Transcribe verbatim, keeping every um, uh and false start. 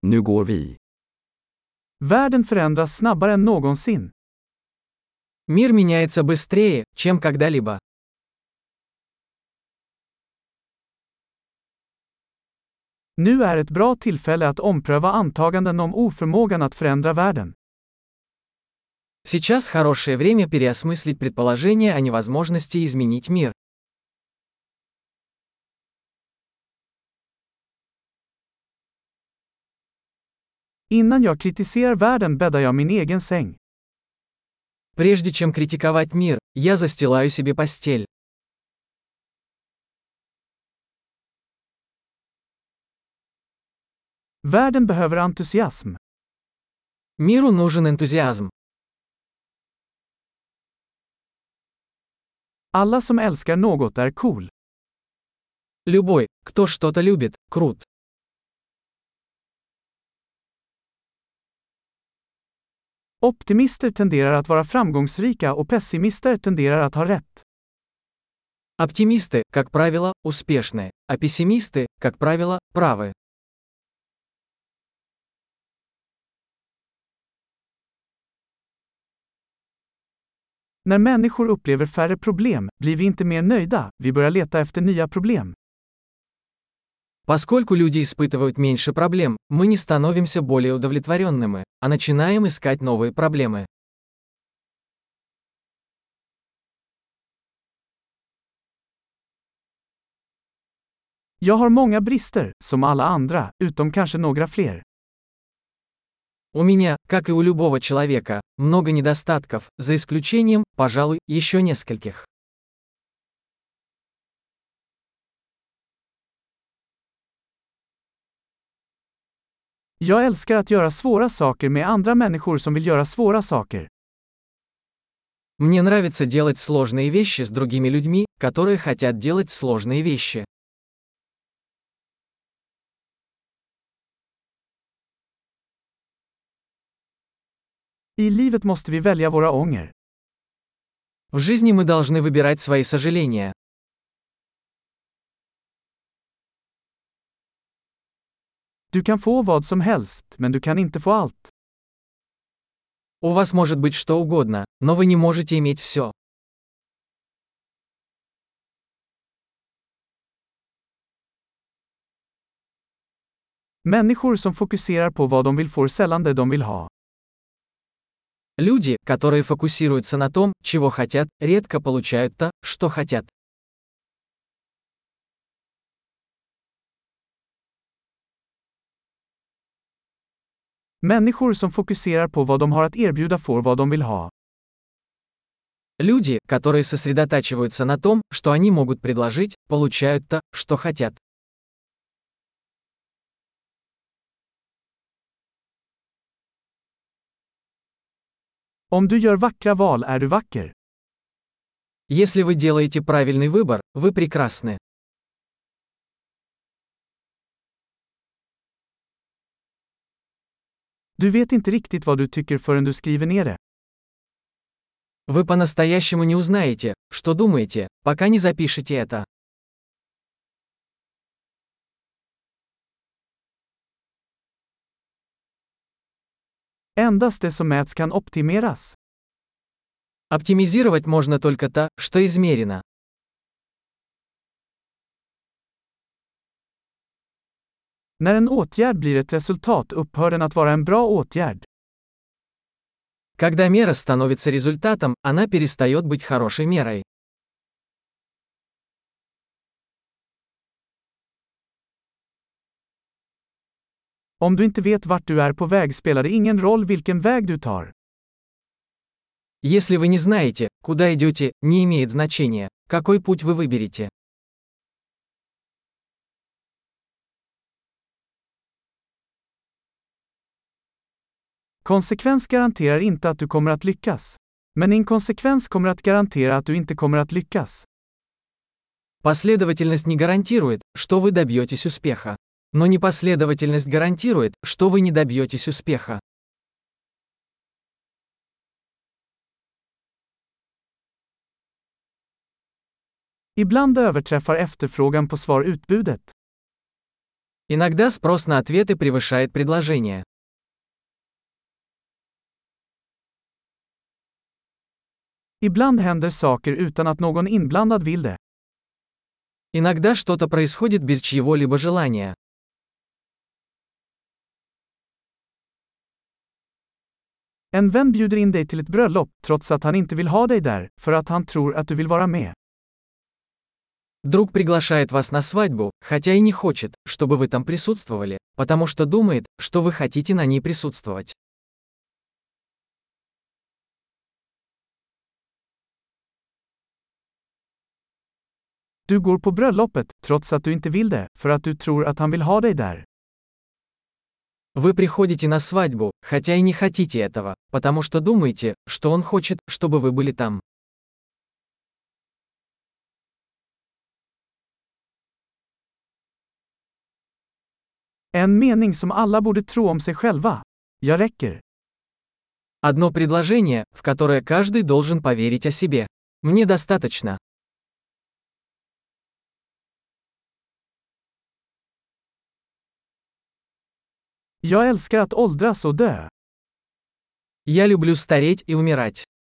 Nu går vi. Världen förändras snabbare än någonsin. Мир меняется быстрее, чем когда-либо. Nu är ett bra tillfälle att ompröva antaganden om oförmågan att förändra världen. Сейчас хорошее время переосмыслить предположение о невозможности изменить мир. Innan jag kritiserar världen bäddar jag min egen säng. Прежде чем критиковать мир, я застилаю себе постель. Världen behöver entusiasm. Миру нужен энтузиазм. Alla som älskar något är cool. Любой, кто что-то любит, крут. Optimister tenderar att vara framgångsrika och pessimister tenderar att ha rätt. Оптимисты, как правило, успешны, а пессимисты, как правило, правы. När människor upplever färre problem, blir vi inte mer nöjda, vi börjar leta efter nya problem. Поскольку люди испытывают меньше проблем, мы не становимся более удовлетворенными, а начинаем искать новые проблемы. Jag har många brister, som alla andra, utom kanske några fler. У меня, как и у любого человека, много недостатков, за исключением, пожалуй, еще нескольких. Jag älskar att göra svåra saker med andra människor som vill göra svåra saker. Мне нравится делать сложные вещи с другими людьми, которые хотят делать сложные вещи. I livet måste vi välja våra ånger. В жизни мы должны выбирать свои сожаления. Du kan få vad som helst, men du kan inte få allt. У вас может быть что угодно, но вы не можете иметь все. Människor som fokuserar på vad de vill får sällan det de vill ha. Люди, которые фокусируются на том, чего хотят, редко получают то, что хотят. Människor som fokuserar på vad de har att erbjuda får vad de vill ha. Люди, которые сосредотачиваются на том, что они могут предложить, получают то, что хотят. Om du gör vackra val är du vacker. Если вы делаете правильный выбор, вы прекрасны. Du vet inte riktigt vad du tycker förrän du skriver ner det. Вы по-настоящему не узнаете, что думаете, пока не запишете это. Endast det som mäts kan optimeras. Оптимизировать можно только то, что измерено. När en åtgärd blir ett resultat upphör den att vara en bra åtgärd. Когда мера становится результатом, она перестает быть хорошей мерой. Om du inte vet vart du är på väg spelar det ingen roll vilken väg du tar. Если вы не знаете, куда идете, не имеет значения, какой путь вы выберете. Konsekvens garanterar inte att du kommer att lyckas. Men inkonsekvens kommer att garantera att du inte kommer att lyckas. Последовательность не гарантирует, что вы добьетесь успеха. Но непоследовательность гарантирует, что вы не добьетесь успеха. Ibland överträffar efterfrågan på svar utbudet. Иногда спрос на ответы превышает предложение. Ibland händer saker utan att någon inblandad vill det. Иногда что-то происходит без чьего-либо желания. En vän bjuder in dig till ett bröllop, trots att han inte vill ha dig där, för att han tror att du vill vara med. Друг приглашает вас на свадьбу, хотя и не хочет, чтобы вы там присутствовали, потому что думает, что вы хотите на ней присутствовать. Du går på bröllopet, trots att du inte vill det, för att du tror att han vill ha dig där. Вы приходите на свадьбу, хотя и не хотите этого, потому что думаете, что он хочет, чтобы вы были там. En mening som alla borde tro om sig själva. Jag räcker. Одно предложение, в которое каждый должен поверить о себе. Мне достаточно. Jag älskar att åldras och dö. Я люблю стареть и умирать.